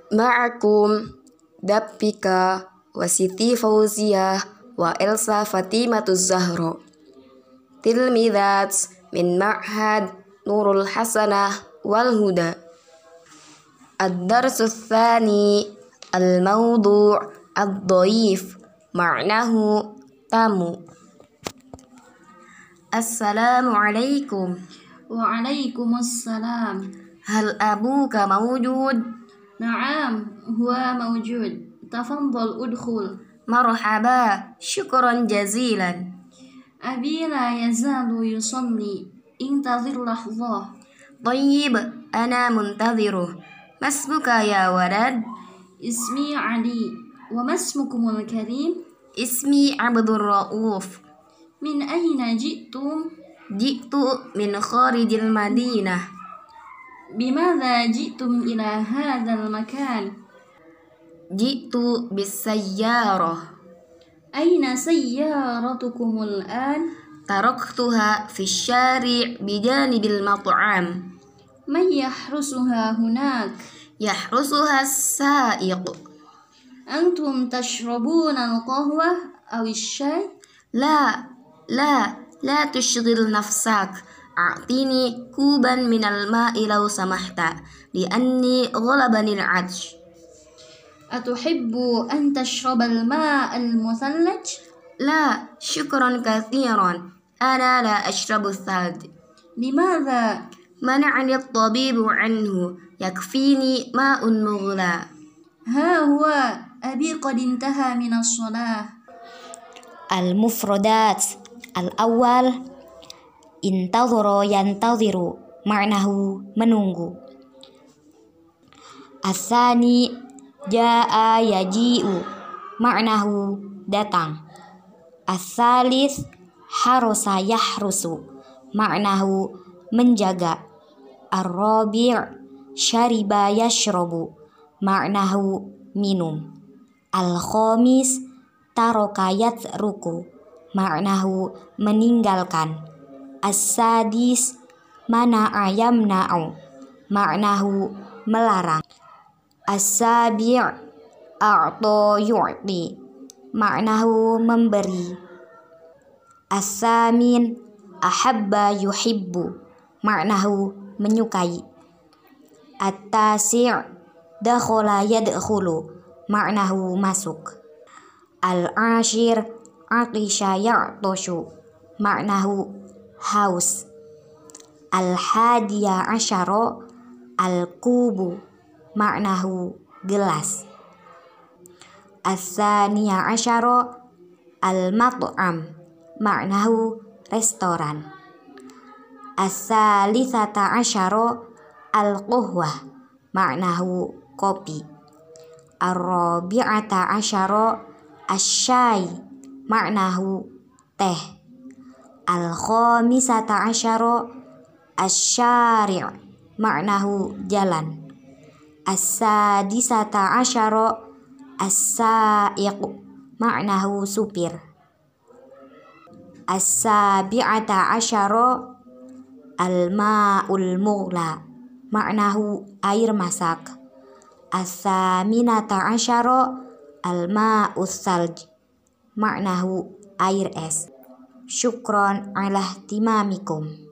Ma'akum Dappika wa Siti Fauziyah wa Elsa Fatimatuz Zahra, tilmidat min Ma'had Nurul Hasanah wal Huda. Ad-darsu tsani al-mawdu' ad-dhaif, ma'nahu tamu. Assalamualaikum. Waalaikumsalam. Hal abuka mawjud? Naam, huwa mawjud. Tafadhal udkhul. Marhaba, syukran jazilan. Abi la yazalu yusalli. Intazir lahzah. Tayyib, ana muntadhiruh. Masmuka ya walad? Ismi Ali. Wa masmukumul karim? Ismi Abdur Rauf. Min ayna ji'tum? Ji'tu min kharijil Madinah. Bimadha ji'tum ila hadzal makan? Ji'tu bis sayyarah. Aina sayyaratukumul an? Taraktuha fi syari' bijanibil mat'am. Man yahrusuha hunak? Yahrusuha as-sa'iq. Antum tashrabuna al-qahwah aw asy-syai? La tushghil nafsak. A'tini kuban minal ma'i law samahta, li'anni ghalabani al-'atsh. Atuhibbu an tashrabal ma'a al-muthallaj? La, syukran kathiran. Ana la ashrabu thalj. Limadha? Mana'ani at-tabibu anhu. Yakfini ma'un mughla. Ha huwa abi qad intaha min as-shalah. Al-mufradat. Al-awwal intadhara yantadhiru, ma'nahu menunggu. As-tsani jaa yaji'u, ma'nahu datang. As-tsalits harusa yahrusu, ma'nahu menjaga. Ar-rabi' syariba yashrabu, ma'nahu minum. Al-khamis taraka yatruku, ma'nahu meninggalkan. As-sadis mana'a yamna'u, ma'nahu melarang. As-sabi' a'ta yu'ti, ma'nahu memberi. As-samin ahabba yuhibbu, ma'nahu menyukai. At-tasi' dakhala yadkhulu, ma'nahu masuk. Al-ashir aqisha ya'tashu, ma'nahu haus. Al-hadiya asyara al-kubu, ma'nahu gelas. As-saniya asyara al-mat'am, ma'nahu restoran. As-salisata asyara al-qahwah, ma'nahu kopi. Ar-rabi'ata asyara asy-syai, ma'nahu teh. Al-khamisata asyara asy-syari', ma'nahu jalan. As-sadisata asyara as-sa'iq, ma'nahu supir. As-sabi'ata asyara al-ma'ul mughla, ma'nahu air masak. As-saminata asyara al-ma'us salj, ma'nahu air es. Syukron ala ihtimamikum.